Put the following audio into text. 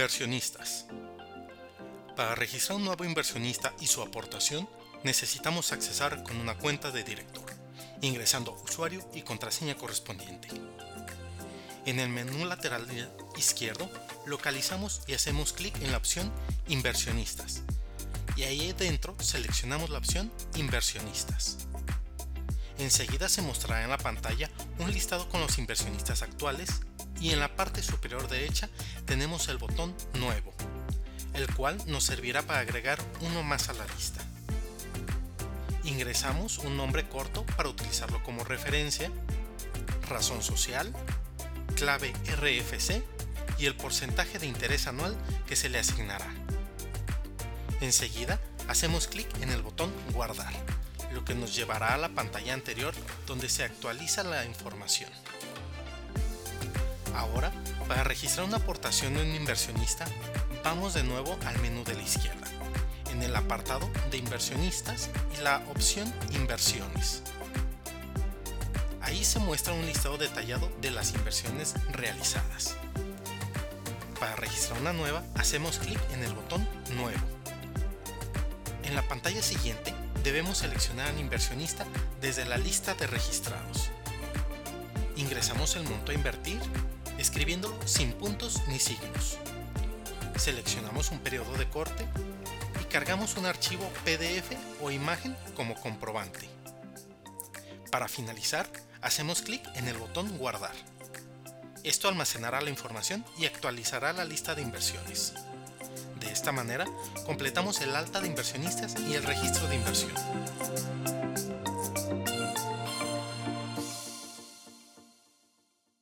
Inversionistas. Para registrar un nuevo inversionista y su aportación, necesitamos accesar con una cuenta de director, ingresando usuario y contraseña correspondiente. En el menú lateral izquierdo, localizamos y hacemos clic en la opción Inversionistas, y ahí dentro seleccionamos la opción Inversionistas. Enseguida se mostrará en la pantalla un listado con los inversionistas actuales y en la parte superior derecha tenemos el botón Nuevo, el cual nos servirá para agregar uno más a la lista. Ingresamos un nombre corto para utilizarlo como referencia, razón social, clave RFC y el porcentaje de interés anual que se le asignará. Enseguida hacemos clic en el botón Guardar, lo que nos llevará a la pantalla anterior donde se actualiza la información. Ahora, para registrar una aportación de un inversionista, vamos de nuevo al menú de la izquierda, en el apartado de Inversionistas y la opción Inversiones. Ahí se muestra un listado detallado de las inversiones realizadas. Para registrar una nueva, hacemos clic en el botón Nuevo. En la pantalla siguiente, debemos seleccionar al inversionista desde la lista de registrados. Ingresamos el monto a invertir, escribiéndolo sin puntos ni signos. Seleccionamos un periodo de corte y cargamos un archivo PDF o imagen como comprobante. Para finalizar, hacemos clic en el botón Guardar. Esto almacenará la información y actualizará la lista de inversiones. De esta manera, completamos el alta de inversionistas y el registro de inversión.